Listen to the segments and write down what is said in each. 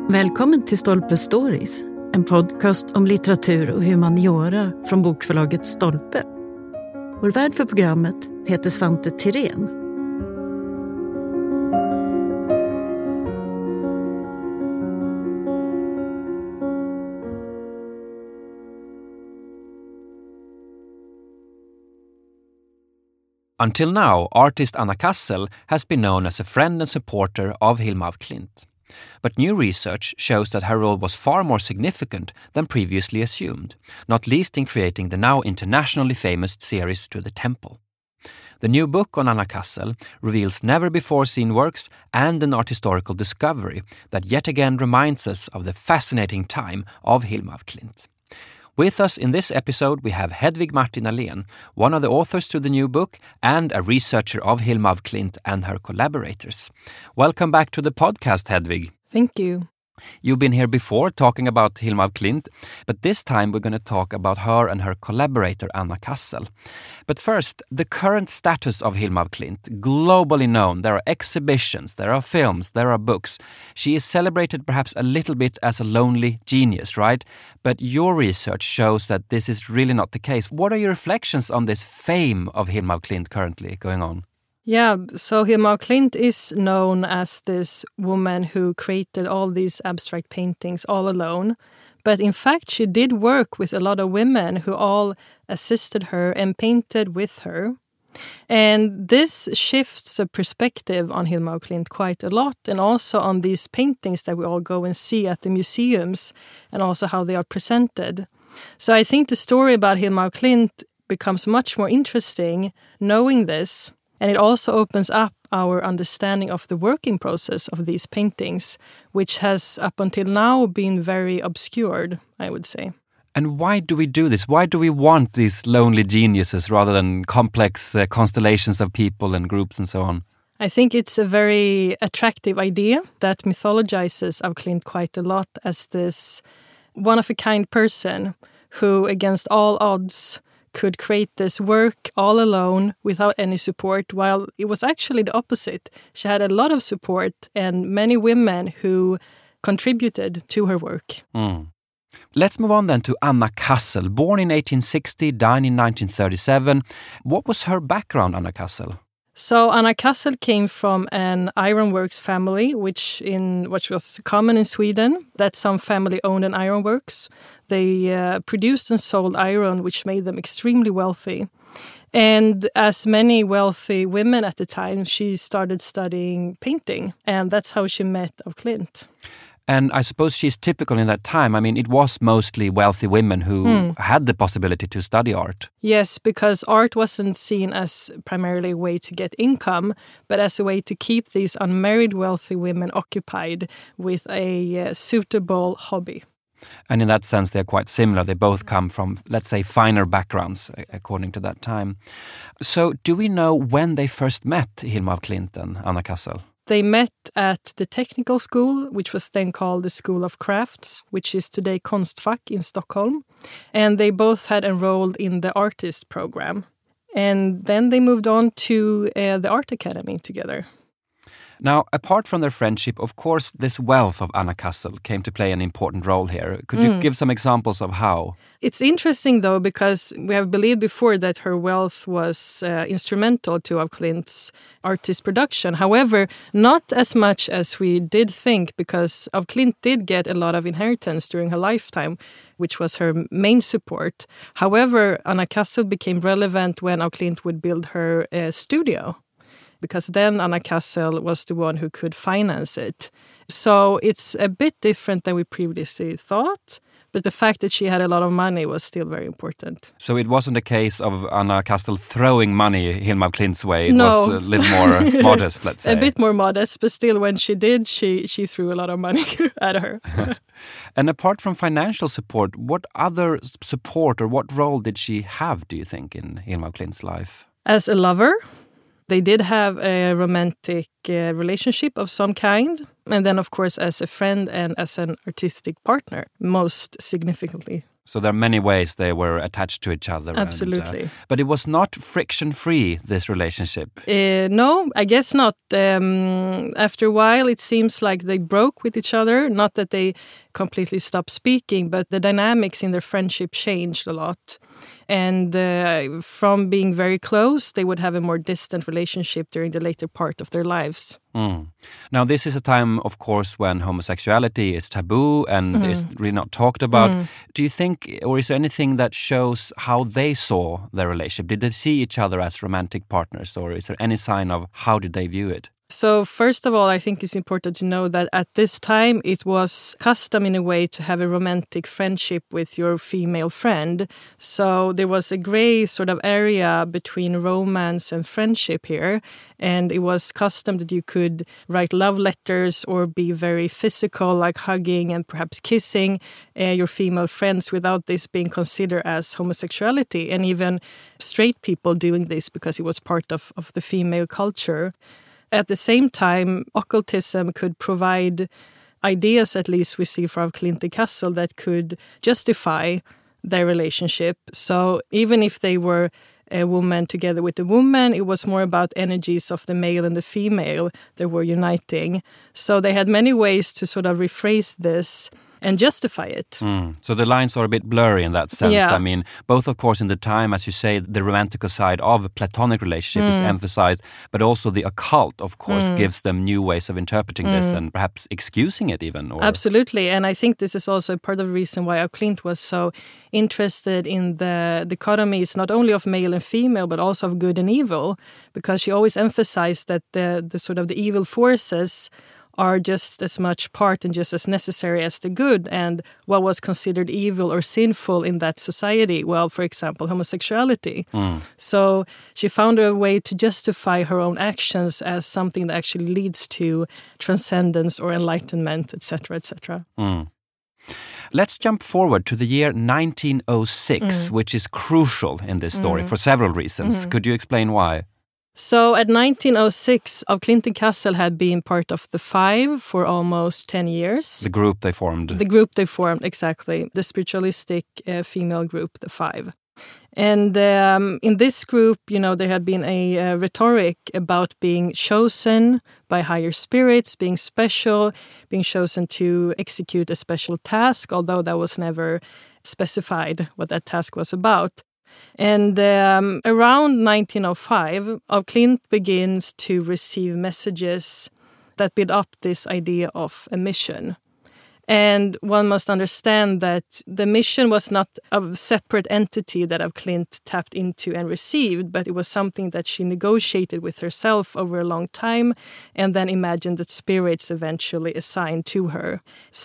Välkommen till Stolpe Stories, en podcast om litteratur och humaniora från bokförlaget Stolpe. Vår värd för programmet heter Svante Tirén. Until now, artist Anna Kassel has been known as a friend and supporter of Hilma af Klint. But new research shows that her role was far more significant than previously assumed, not least in creating the now internationally famous series To the Temple. The new book on Anna Kassel reveals never-before-seen works and an art historical discovery that yet again reminds us of the fascinating time of Hilma af Klint. With us in this episode, we have Hedvig Martin Ahlén, one of the authors to the new book and a researcher of Hilma af Klint and her collaborators. Welcome back to the podcast, Hedvig. Thank you. You've been here before talking about Hilma af Klint, but this time we're going to talk about her and her collaborator Anna Kassel. But first, the current status of Hilma af Klint, globally known. There are exhibitions, there are films, there are books. She is celebrated perhaps a little bit as a lonely genius, right? But your research shows that this is really not the case. What are your reflections on this fame of Hilma af Klint currently going on? Yeah, so Hilma af Klint is known as this woman who created all these abstract paintings all alone. But in fact, she did work with a lot of women who all assisted her and painted with her. And this shifts the perspective on Hilma af Klint quite a lot, and also on these paintings that we all go and see at the museums, and also how they are presented. So I think the story about Hilma af Klint becomes much more interesting knowing this. And it also opens up our understanding of the working process of these paintings, which has up until now been very obscured, I would say. And why do we do this? Why do we want these lonely geniuses rather than complex constellations of people and groups and so on? I think it's a very attractive idea that mythologizes af Klint quite a lot as this one-of-a-kind person who, against all odds, could create this work all alone without any support, while it was actually the opposite. She had a lot of support and many women who contributed to her work. Let's move on then to Anna Kassel, born in 1860, died in 1937. What was her background, Anna Kassel? So Anna Kassel came from an ironworks family, which was common in Sweden, that some family owned an ironworks. They produced and sold iron, which made them extremely wealthy. And as many wealthy women at the time, she started studying painting, and that's how she met af Klint. And I suppose she's typical in that time. I mean, it was mostly wealthy women who had the possibility to study art. Yes, because art wasn't seen as primarily a way to get income, but as a way to keep these unmarried wealthy women occupied with a suitable hobby. And in that sense, they're quite similar. They both come from, let's say, finer backgrounds, according to that time. So do we know when they first met, Hilma af Klint and Anna Kassel? They met at the technical school, which was then called the School of Crafts, which is today Konstfack in Stockholm. And they both had enrolled in the artist program. And then they moved on to the Art Academy together. Now, apart from their friendship, of course, this wealth of Anna Kassel came to play an important role here. Could you give some examples of how? It's interesting, though, because we have believed before that her wealth was instrumental to af Klint's artist production. However, not as much as we did think, because af Klint did get a lot of inheritance during her lifetime, which was her main support. However, Anna Kassel became relevant when af Klint would build her studio, because then Anna Kassel was the one who could finance it. So it's a bit different than we previously thought, but the fact that she had a lot of money was still very important. So it wasn't a case of Anna Kassel throwing money Hilma af Klint's way. It No. was a little more modest, let's say. A bit more modest, but still when she did, she threw a lot of money at her. And apart from financial support, what other support or what role did she have, do you think, in Hilma af Klint's life? As a lover, they did have a romantic relationship of some kind. And then, of course, as a friend and as an artistic partner, most significantly. So there are many ways they were attached to each other. Absolutely. But it was not friction-free, this relationship. No, I guess not. After a while, it seems like they broke with each other. Not that they completely stopped speaking, but the dynamics in their friendship changed a lot. And from being very close, they would have a more distant relationship during the later part of their lives. Now, this is a time, of course, when homosexuality is taboo and is really not talked about. Do you think, or is there anything that shows how they saw their relationship? Did they see each other as romantic partners, or is there any sign of how did they view it? So first of all, I think it's important to know that at this time it was custom in a way to have a romantic friendship with your female friend. So there was a gray sort of area between romance and friendship here. And it was custom that you could write love letters or be very physical, like hugging and perhaps kissing your female friends without this being considered as homosexuality. And even straight people doing this because it was part of the female culture. At the same time, occultism could provide ideas, at least we see from Klint and Cassel, that could justify their relationship. So even if they were a woman together with a woman, it was more about energies of the male and the female that were uniting. So they had many ways to sort of rephrase this and justify it. So the lines are a bit blurry in that sense. Yeah. I mean, both, of course, in the time, as you say, the romantical side of a platonic relationship is emphasized, but also the occult, of course, gives them new ways of interpreting this and perhaps excusing it even. Or... Absolutely. And I think this is also part of the reason why Klint was so interested in the dichotomies, not only of male and female, but also of good and evil, because she always emphasized that the sort of the evil forces are just as much part and just as necessary as the good, and what was considered evil or sinful in that society, well, for example, homosexuality. So she found a way to justify her own actions as something that actually leads to transcendence or enlightenment, etc., etc. Let's jump forward to the year 1906, which is crucial in this story for several reasons. Could you explain why? So at 1906, of Klint and Cassel had been part of the Five for almost 10 years. The group they formed. The group they formed, exactly. The spiritualistic female group, the Five. And in this group, you know, there had been a rhetoric about being chosen by higher spirits, being special, being chosen to execute a special task, although that was never specified what that task was about. And around 1905, of Klint begins to receive messages that build up this idea of a mission. And one must understand that the mission was not a separate entity that of Klint tapped into and received, but it was something that she negotiated with herself over a long time and then imagined that spirits eventually assigned to her.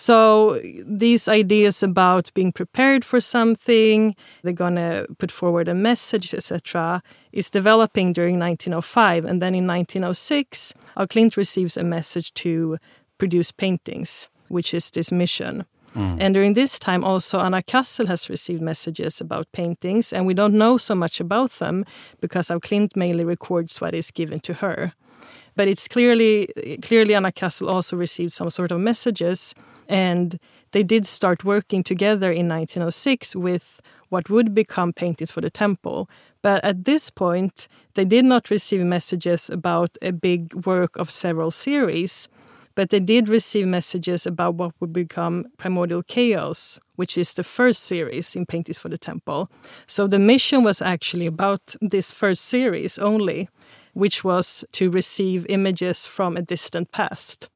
So these ideas about being prepared for something, they're going to put forward a message, etc., is developing during 1905. And then in 1906, Klint receives a message to produce paintings, which is this mission. And during this time also Anna Cassel has received messages about paintings, and we don't know so much about them because of Klint mainly records what is given to her. But it's clearly Anna Cassel also received some sort of messages, and they did start working together in 1906 with what would become Paintings for the Temple. But at this point, they did not receive messages about a big work of several series, but they did receive messages about what would become Primordial Chaos, which is the first series in Paintings for the Temple. So the mission was actually about this first series only, which was to receive images from a distant past.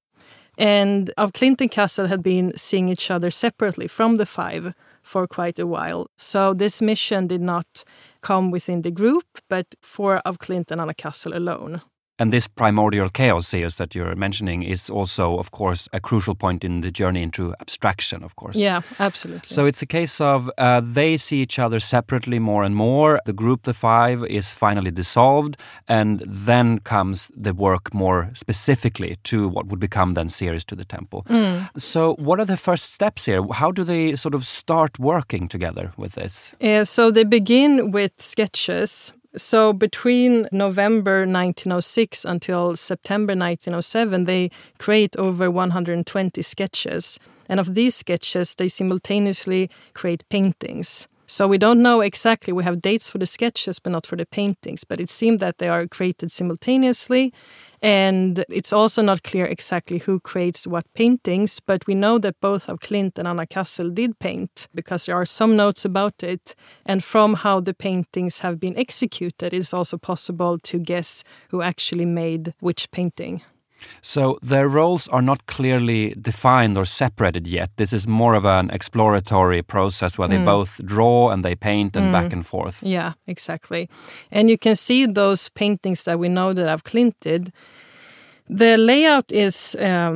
And of Klint and Cassel had been seeing each other separately from the Five for quite a while. So this mission did not come within the group, but for of Klint and Anna Cassel alone. And this Primordial Chaos series that you're mentioning is also, of course, a crucial point in the journey into abstraction, of course. Yeah, absolutely. So it's a case of they see each other separately more and more. The group, the Five, is finally dissolved. And then comes the work more specifically to what would become then Series to the Temple. So what are the first steps here? How do they sort of start working together with this? So they begin with sketches. So between November 1906 until September 1907, they create over 120 sketches. And of these sketches, they simultaneously create paintings. So we don't know exactly. We have dates for the sketches, but not for the paintings. But it seemed that they are created simultaneously. And it's also not clear exactly who creates what paintings. But we know that both of Klint and Anna Kassel did paint because there are some notes about it. And from how the paintings have been executed, it's also possible to guess who actually made which painting. So their roles are not clearly defined or separated yet. This is more of an exploratory process where they both draw and they paint and back and forth. Yeah, exactly. And you can see those paintings that we know that Av Klint did. The layout is,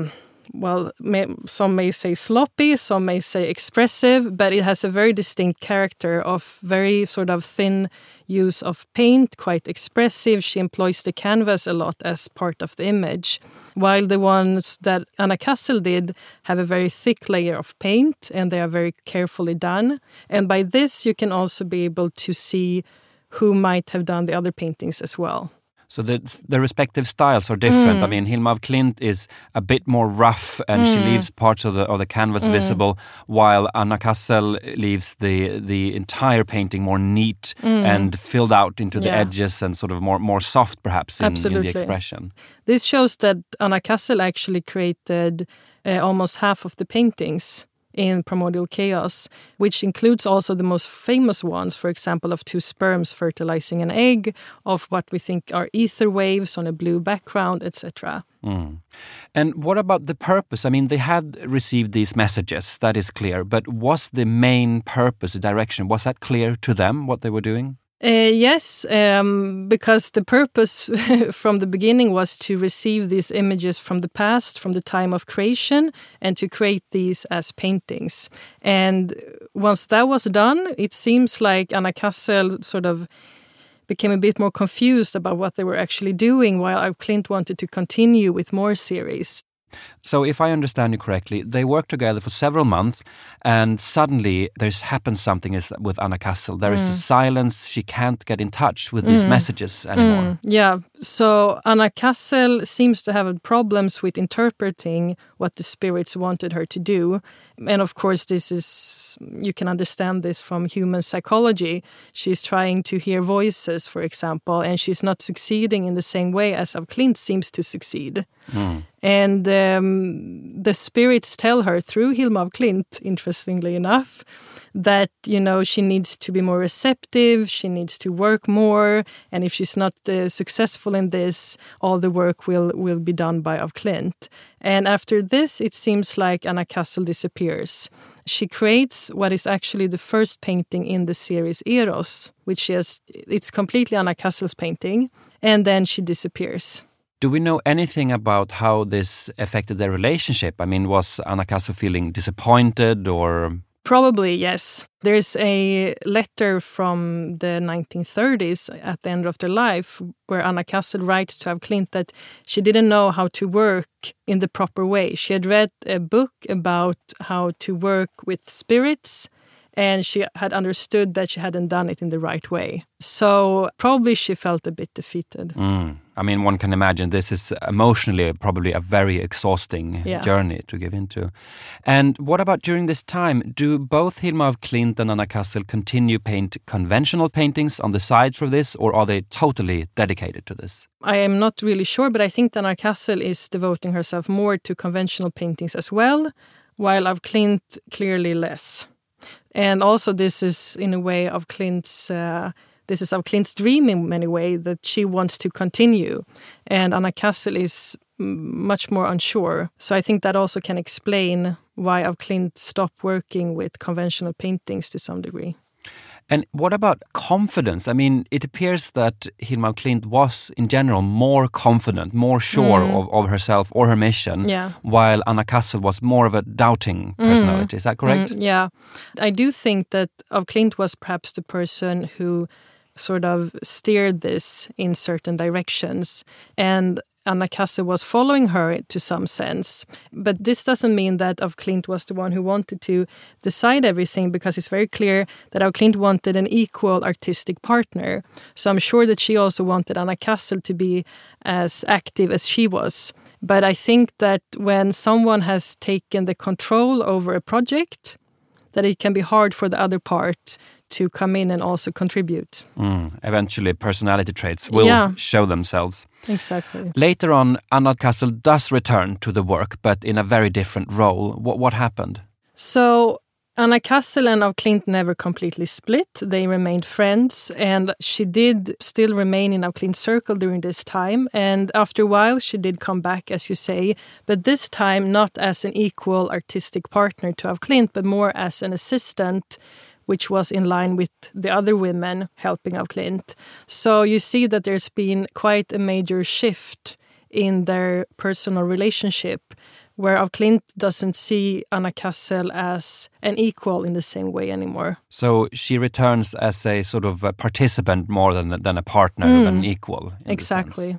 some may say sloppy, some may say expressive, but it has a very distinct character of very sort of thin use of paint, quite expressive. She employs the canvas a lot as part of the image, while the ones that Anna Kassel did have a very thick layer of paint, and they are very carefully done. And by this, you can also be able to see who might have done the other paintings as well. So the respective styles are different. I mean, Hilma af Klint is a bit more rough, and she leaves parts of the canvas visible, while Anna Kassel leaves the entire painting more neat and filled out into the edges and sort of more soft, perhaps, in the expression. This shows that Anna Kassel actually created almost half of the paintings in Primordial Chaos, which includes also the most famous ones, for example, of two sperms fertilizing an egg, of what we think are ether waves on a blue background, etc. And what about the purpose? I mean, they had received these messages, that is clear, but was the main purpose, the direction, was that clear to them, what they were doing? Yes, because the purpose from the beginning was to receive these images from the past, from the time of creation, and to create these as paintings. And once that was done, it seems like Anna Kassel sort of became a bit more confused about what they were actually doing, while Av Klint wanted to continue with more series. So if I understand you correctly, they worked together for several months, and suddenly there's happened something with Anna Kassel. There is a silence. She can't get in touch with these messages anymore. Yeah, so Anna Kassel seems to have problems with interpreting what the spirits wanted her to do. And of course, you can understand this from human psychology. She's trying to hear voices, for example, and she's not succeeding in the same way as Av Klint seems to succeed. And the spirits tell her through Hilma af Klint, interestingly enough, that, she needs to be more receptive, she needs to work more, and if she's not successful in this, all the work will be done by Av Klint. And after this, it seems like Anna Kassel disappears. She creates what is actually the first painting in the series Eros, it's completely Anna Kassel's painting, and then she disappears. Do we know anything about how this affected their relationship? I mean, was Anna Kassel feeling disappointed or... Probably, yes. There's a letter from the 1930s at the end of their life where Anna Kassel writes to Av Klint that she didn't know how to work in the proper way. She had read a book about how to work with spirits, and she had understood that she hadn't done it in the right way. So probably she felt a bit defeated. I mean, one can imagine this is emotionally probably a very exhausting journey to give into. And what about during this time? Do both Hilma af Klint and Anna Kassel continue paint conventional paintings on the sides for this, or are they totally dedicated to this? I am not really sure, but I think that Anna Kassel is devoting herself more to conventional paintings as well, while Av Klint clearly less. And also this is in a way Av Klint's dream in many ways, that she wants to continue. And Anna Kassel is much more unsure. So I think that also can explain why Av Klint stopped working with conventional paintings to some degree. And what about confidence? I mean, it appears that Hilma af Klint was, in general, more confident, more sure of herself or her mission, while Anna Kassel was more of a doubting personality. Is that correct? Yeah. I do think that Av Klint was perhaps the person who sort of steered this in certain directions, and Anna Kassel was following her to some sense. But this doesn't mean that Av Klint was the one who wanted to decide everything, because it's very clear that Av Klint wanted an equal artistic partner. So I'm sure that she also wanted Anna Kassel to be as active as she was, But I think that when someone has taken the control over a project, that it can be hard for the other part to come in and also contribute. Eventually, personality traits will show themselves. Exactly. Later on, Anna Cassel does return to the work, but in a very different role. What happened? So Anna Cassel and af Klint never completely split. They remained friends, and she did still remain in af Klint's circle during this time. And after a while, she did come back, as you say, but this time not as an equal artistic partner to af Klint, but more as an assistant, which was in line with the other women helping af Klint. So you see that there's been quite a major shift in their personal relationship, where af Klint doesn't see Anna Cassel as an equal in the same way anymore. So she returns as a sort of a participant more than a partner, than an equal. Exactly.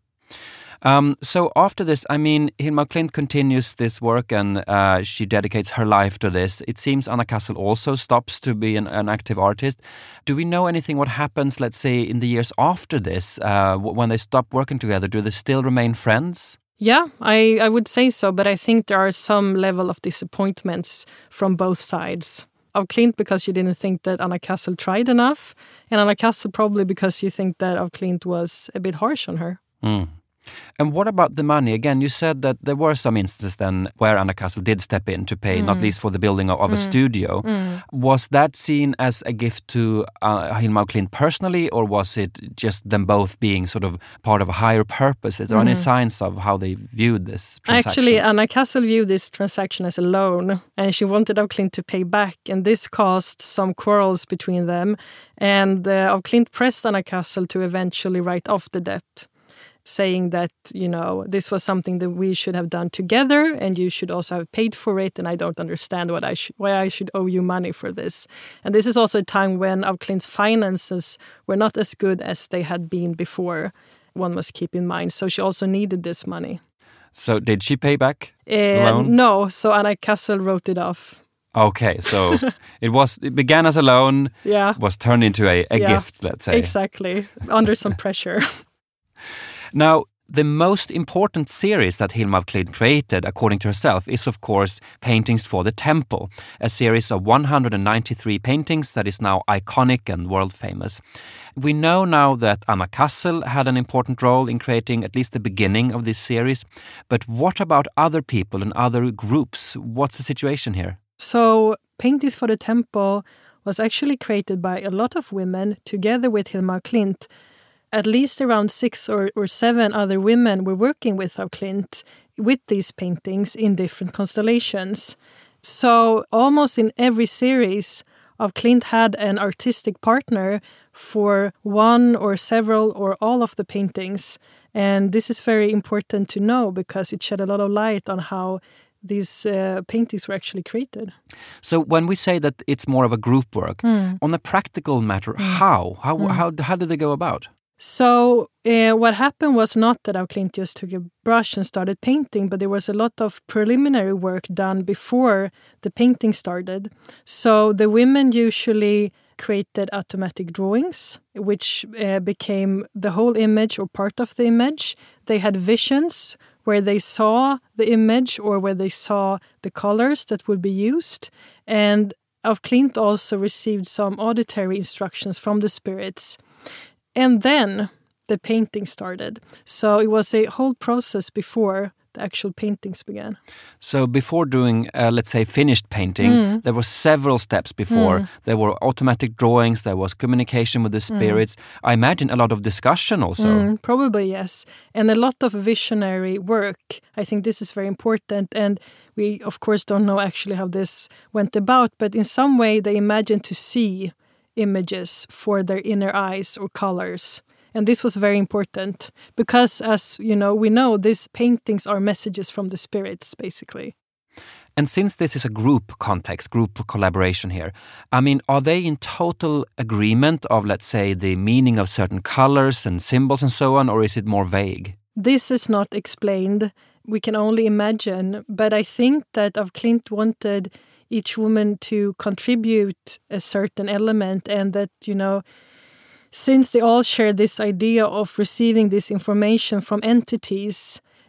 So after this, I mean, Hilma af Klint continues this work and she dedicates her life to this. It seems Anna Cassel also stops to be an active artist. Do we know anything what happens, let's say, in the years after this, when they stop working together? Do they still remain friends? Yeah, I would say so, but I think there are some level of disappointments from both sides. Af Klint because she didn't think that Anna Cassel tried enough, and Anna Cassel probably because she think that af Klint was a bit harsh on her. And what about the money? Again, you said that there were some instances then where Anna Cassel did step in to pay, not least for the building of a studio. Was that seen as a gift to Hilma af Klint personally, or was it just them both being sort of part of a higher purpose? Is there any signs of how they viewed this transaction? Actually, Anna Cassel viewed this transaction as a loan, and she wanted af Klint to pay back, and this caused some quarrels between them. And af Klint pressed Anna Cassel to eventually write off the debt, saying that, you know, this was something that we should have done together and you should also have paid for it, and I don't understand why I should owe you money for this. And this is also a time when af Klint's finances were not as good as they had been before, one must keep in mind. So she also needed this money. So did she pay back the loan? No, so Anna Cassel wrote it off. Okay, so it began as a loan, was turned into a gift, let's say. Exactly, under some pressure. Now, the most important series that Hilma af Klint created, according to herself, is of course Paintings for the Temple, a series of 193 paintings that is now iconic and world famous. We know now that Anna Cassel had an important role in creating at least the beginning of this series, but what about other people and other groups? What's the situation here? So, Paintings for the Temple was actually created by a lot of women together with Hilma af Klint. At least around 6 or 7 other women were working with af Klint with these paintings in different constellations. So almost in every series, af Klint had an artistic partner for one or several or all of the paintings. And this is very important to know because it shed a lot of light on how these paintings were actually created. So when we say that it's more of a group work, on a practical matter, how did they go about? So what happened was not that af Klint just took a brush and started painting, but there was a lot of preliminary work done before the painting started. So the women usually created automatic drawings, which became the whole image or part of the image. They had visions where they saw the image or where they saw the colors that would be used. And af Klint also received some auditory instructions from the spirits. And then the painting started. So it was a whole process before the actual paintings began. So before doing, let's say, finished painting, there were several steps before. There were automatic drawings, there was communication with the spirits. I imagine a lot of discussion also. Probably, yes. And a lot of visionary work. I think this is very important. And we, of course, don't know actually how this went about. But in some way, they imagined to see images for their inner eyes or colors. And this was very important because, as you know, we know these paintings are messages from the spirits, basically. And since this is a group context, group collaboration here, I mean, are they in total agreement of, let's say, the meaning of certain colors and symbols and so on, or is it more vague? This is not explained. We can only imagine. But I think that af Klint wanted each woman to contribute a certain element, and that, you know, since they all share this idea of receiving this information from entities,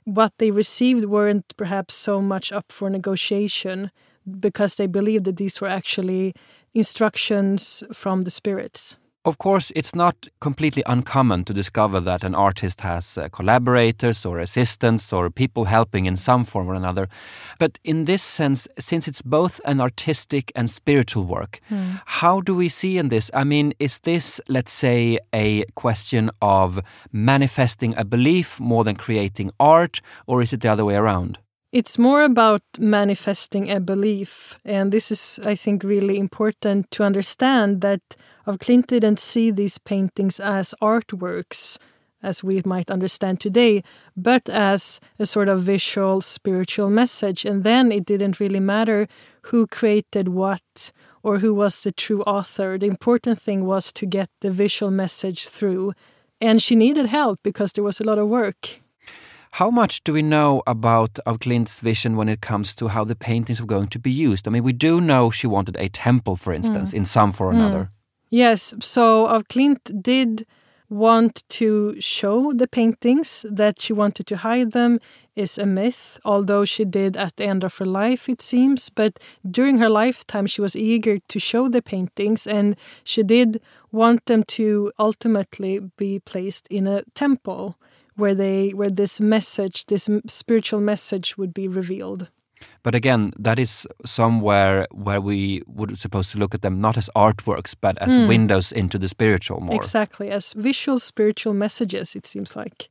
what they received weren't perhaps so much up for negotiation because they believed that these were actually instructions from the spirits. Of course, it's not completely uncommon to discover that an artist has collaborators or assistants or people helping in some form or another. But in this sense, since it's both an artistic and spiritual work, how do we see in this? I mean, is this, let's say, a question of manifesting a belief more than creating art, or is it the other way around? It's more about manifesting a belief. And this is, I think, really important to understand that af Klint didn't see these paintings as artworks, as we might understand today, but as a sort of visual, spiritual message. And then it didn't really matter who created what or who was the true author. The important thing was to get the visual message through. And she needed help because there was a lot of work. How much do we know about af Klint's vision when it comes to how the paintings were going to be used? I mean, we do know she wanted a temple, for instance, in some form or another. Yes, so af Klint did want to show the paintings. That she wanted to hide them is a myth, although she did at the end of her life, it seems. But during her lifetime, she was eager to show the paintings, and she did want them to ultimately be placed in a temple where this message, this spiritual message would be revealed. But again, that is somewhere where we would supposed to look at them not as artworks, but as windows into the spiritual more. Exactly, as visual spiritual messages, it seems like.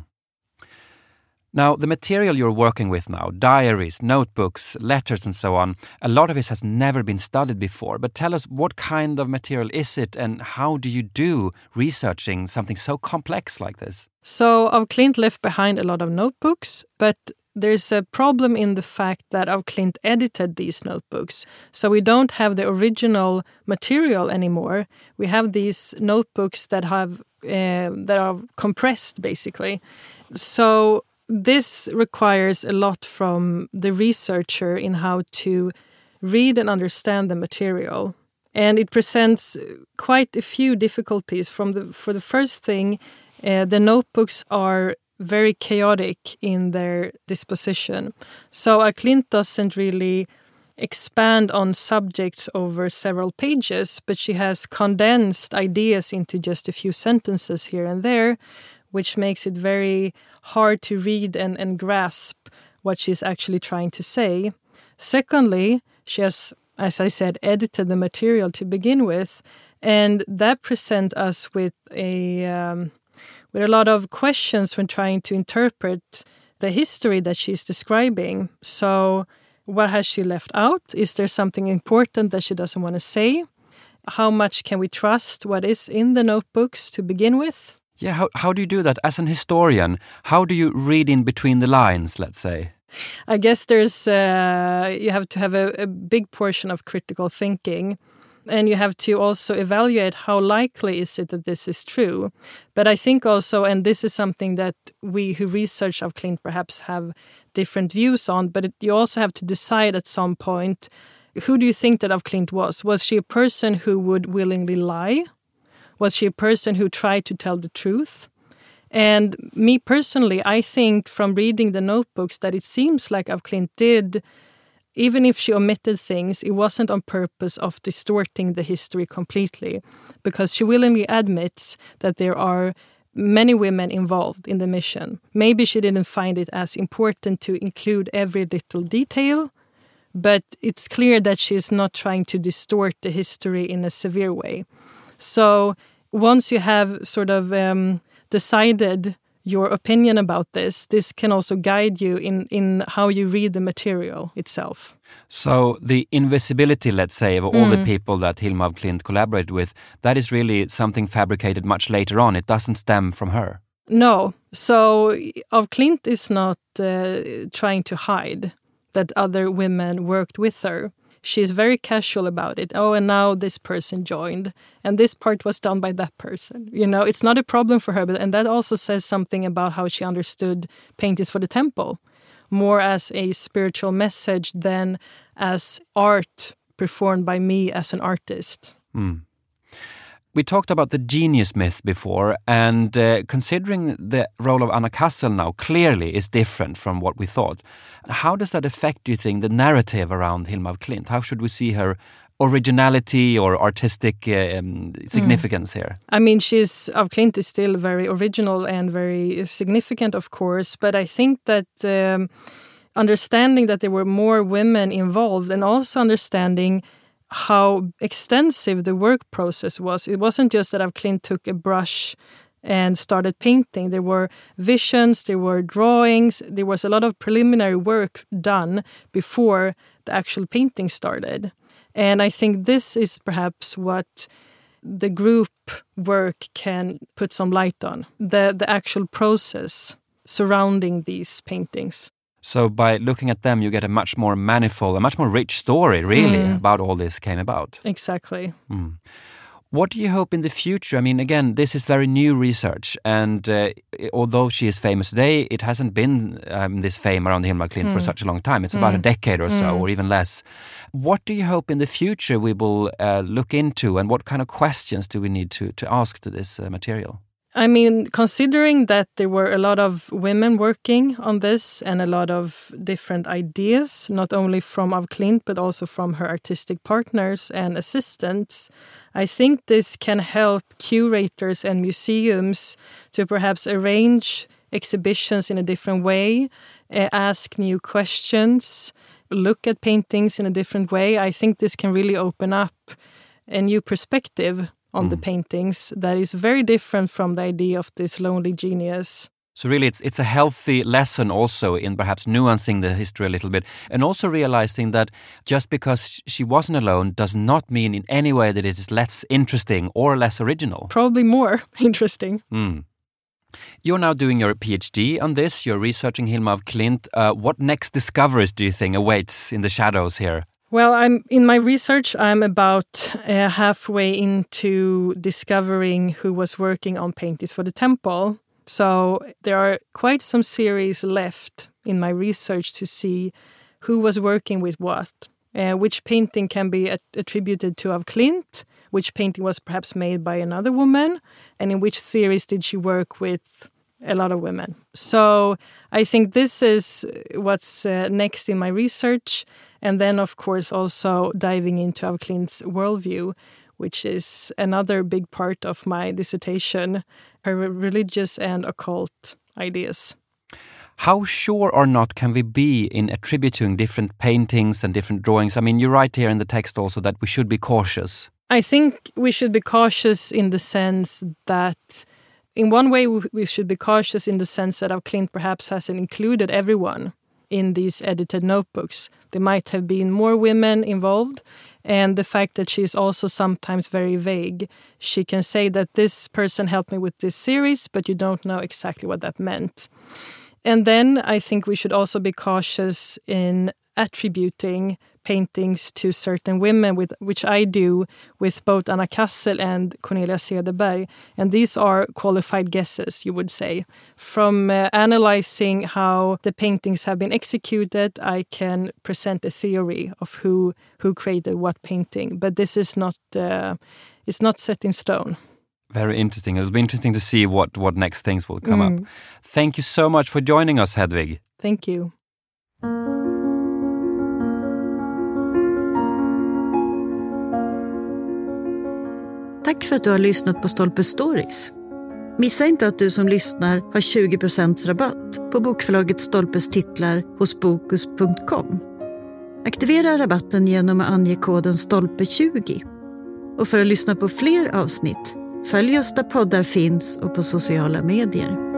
Now, the material you're working with now, diaries, notebooks, letters and so on, a lot of it has never been studied before. But tell us, what kind of material is it and how do you do researching something so complex like this? So af Klint left behind a lot of notebooks, but there's a problem in the fact that af Klint edited these notebooks. So we don't have the original material anymore. We have these notebooks that are compressed, basically. So this requires a lot from the researcher in how to read and understand the material. And it presents quite a few difficulties. For the first thing, the notebooks are very chaotic in their disposition. So af Klint doesn't really expand on subjects over several pages, but she has condensed ideas into just a few sentences here and there, which makes it very hard to read and grasp what she's actually trying to say. Secondly, she has, as I said, edited the material to begin with, and that presents us with a lot of questions when trying to interpret the history that she's describing. So what has she left out? Is there something important that she doesn't want to say? How much can we trust what is in the notebooks to begin with? Yeah, how do you do that? As an historian, how do you read in between the lines, let's say? I guess there's you have to have a big portion of critical thinking. And you have to also evaluate how likely is it that this is true. But I think also, and this is something that we who research af Klint perhaps have different views on, but you also have to decide at some point, who do you think that af Klint was? Was she a person who would willingly lie? Was she a person who tried to tell the truth? And me personally, I think from reading the notebooks that it seems like af Klint did, even if she omitted things, it wasn't on purpose of distorting the history completely, because she willingly admits that there are many women involved in the mission. Maybe she didn't find it as important to include every little detail, but it's clear that she's not trying to distort the history in a severe way. So once you have sort of decided your opinion about this can also guide you in how you read the material itself. So the invisibility, let's say, of all the people that Hilma af Klint collaborated with, that is really something fabricated much later on. It doesn't stem from her. No. So af Klint is not trying to hide that other women worked with her. She's very casual about it. Oh, and now this person joined. And this part was done by that person. You know, it's not a problem for her. And that also says something about how she understood paintings for the temple. More as a spiritual message than as art performed by me as an artist. We talked about the genius myth before, and considering the role of Anna Kassel now clearly is different from what we thought. How does that affect, do you think, the narrative around Hilma af Klint? How should we see her originality or artistic significance here? I mean, af Klint is still very original and very significant, of course, but I think that understanding that there were more women involved and also understanding how extensive the work process was. It wasn't just that af Klint took a brush and started painting. There were visions, there were drawings, there was a lot of preliminary work done before the actual painting started. And I think this is perhaps what the group work can put some light on, the actual process surrounding these paintings. So by looking at them, you get a much more manifold, a much more rich story, really, about all this came about. Exactly. What do you hope in the future? I mean, again, this is very new research, and although she is famous today, it hasn't been this fame around Hilma af Klint for such a long time. It's about a decade or so, or even less. What do you hope in the future we will look into, and what kind of questions do we need to ask to this material? I mean, considering that there were a lot of women working on this and a lot of different ideas, not only from af Klint, but also from her artistic partners and assistants, I think this can help curators and museums to perhaps arrange exhibitions in a different way, ask new questions, look at paintings in a different way. I think this can really open up a new perspective on the paintings that is very different from the idea of this lonely genius. So really it's a healthy lesson also in perhaps nuancing the history a little bit, and also realizing that just because she wasn't alone does not mean in any way that it is less interesting or less original. Probably more interesting. You're now doing your PhD on this. You're researching Hilma af Klint. What next discoveries do you think awaits in the shadows here? Well, in my research, I'm about halfway into discovering who was working on paintings for the temple. So there are quite some series left in my research to see who was working with what, which painting can be attributed to af Klint, which painting was perhaps made by another woman, and in which series did she work with a lot of women. So I think this is what's next in my research. And then, of course, also diving into af Klint's worldview, which is another big part of my dissertation, her religious and occult ideas. How sure or not can we be in attributing different paintings and different drawings? I mean, you write here in the text also that we should be cautious. I think we should be cautious in the sense that, in one way, we should be cautious in the sense that af Klint perhaps hasn't included everyone in these edited notebooks. There might have been more women involved, and the fact that she's also sometimes very vague. She can say that this person helped me with this series, but you don't know exactly what that meant. And then I think we should also be cautious in attributing paintings to certain women, which I do with both Anna Kassel and Cornelia Cederberg. And these are qualified guesses, you would say. From analyzing how the paintings have been executed, I can present a theory of who created what painting. But this is not it's not set in stone. Very interesting. It'll be interesting to see what next things will come up. Thank you so much for joining us, Hedvig. Thank you. Tack för att du har lyssnat på Stolpe Stories. Missa inte att du som lyssnar har 20% rabatt på bokförlaget Stolpes titlar hos Bokus.com. Aktivera rabatten genom att ange koden STOLPE20. Och för att lyssna på fler avsnitt, följ oss där poddar finns och på sociala medier.